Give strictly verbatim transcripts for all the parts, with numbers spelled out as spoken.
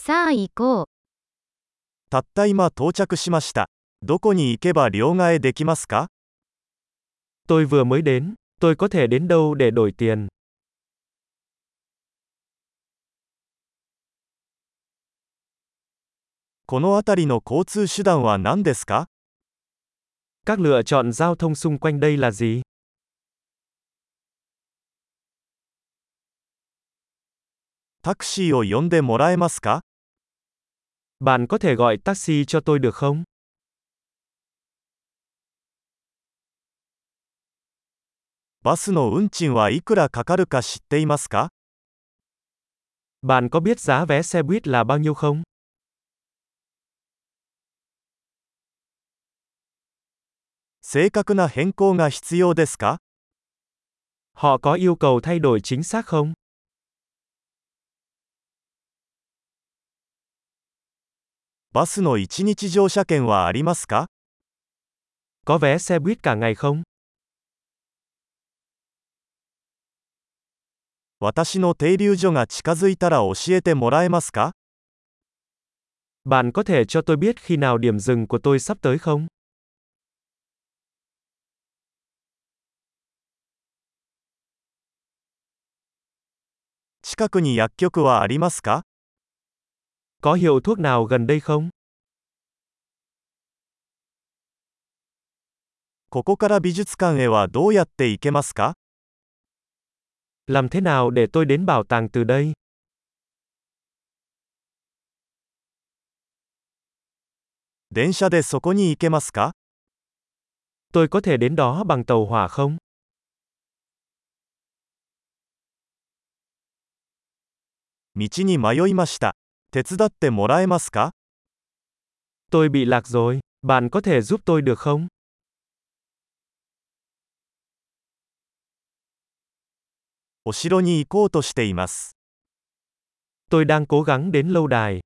さあ行こう。 たった今到着しました。どこに行けば両替できますか？ Tôi vừa mới đến, tôi có thể đến đâu để đổi tiền? この辺りの交通手段は何ですか？ Các lựa chọn giao thông xung quanh đây là gì? タクシーを呼んでもらえますか？ Bạn có thể gọi taxi cho tôi được không? バスの運賃はいくらかかるか知っていますか？ Bạn có biết giá vé xe buýt là bao nhiêu không? 正確な変更が必要ですか？ Họ có yêu cầu thay đổi chính xác không? バスのいちにち乗車券はありますか？ Có vé xe buýt cả ngày không? 私の停留所が近づいたら教えてもらえますか？ Bạn có thể cho tôi biết khi nào điểm dừng của tôi sắp tới không? 近くに薬局はありますか？ Có hiệu thuốc nào gần đây không? ここから美術館へはどうやって行けますか？ Làm thế nào để tôi đến bảo tàng từ đây? 電車でそこに行けますか？ Tôi có thể đến đó bằng tàu hỏa không? 道に迷いました。手伝ってもらえますか？ Tôi bị lạc rồi, bạn có thể giúp tôi được không? お城に行こうとしています。 Tôi đang cố gắng đến lâu đài.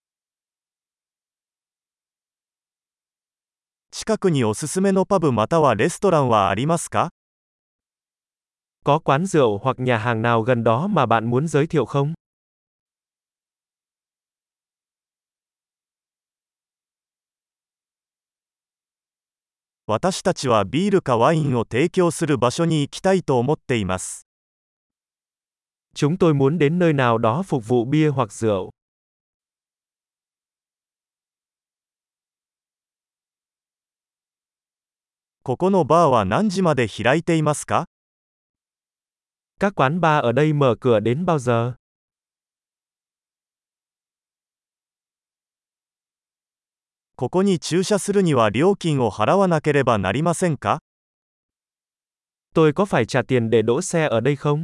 近くにおすすめのパブまたはレストランはありますか？ Có quán rượu hoặc nhà hàng nào gần đó mà bạn muốn giới thiệu không? 私たちはビールかワインを提供する場所に行きたいと思っています。 Chúng tôi muốn đến nơi nào đó phục vụ bia hoặc rượu. ここのバーは何時まで開いていますか？ Các quán bar ở đây mở cửa đến bao giờ? ここに駐車するには料金を払わなければなりませんか？ Tôi có phải trả tiền để đỗ xe ở đây không?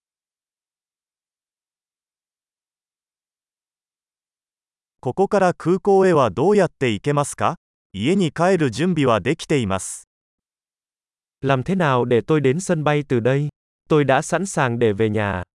ここから空港へはどうやって行けますか？家に帰る準備はできています。 Làm thế nào để tôi đến sân bay từ đây? Tôi đã sẵn sàng để về nhà.